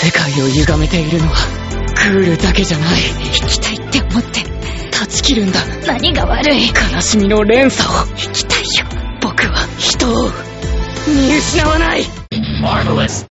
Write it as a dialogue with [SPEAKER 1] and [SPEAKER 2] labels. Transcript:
[SPEAKER 1] 世界を歪めているのはクールだけじゃない。
[SPEAKER 2] 生きたいって思って
[SPEAKER 1] 断ち切るんだ。
[SPEAKER 2] 何が悪い。
[SPEAKER 1] 悲しみの連鎖を。
[SPEAKER 2] 生きたいよ。
[SPEAKER 1] 僕は人を見失わない。
[SPEAKER 3] Marvelous.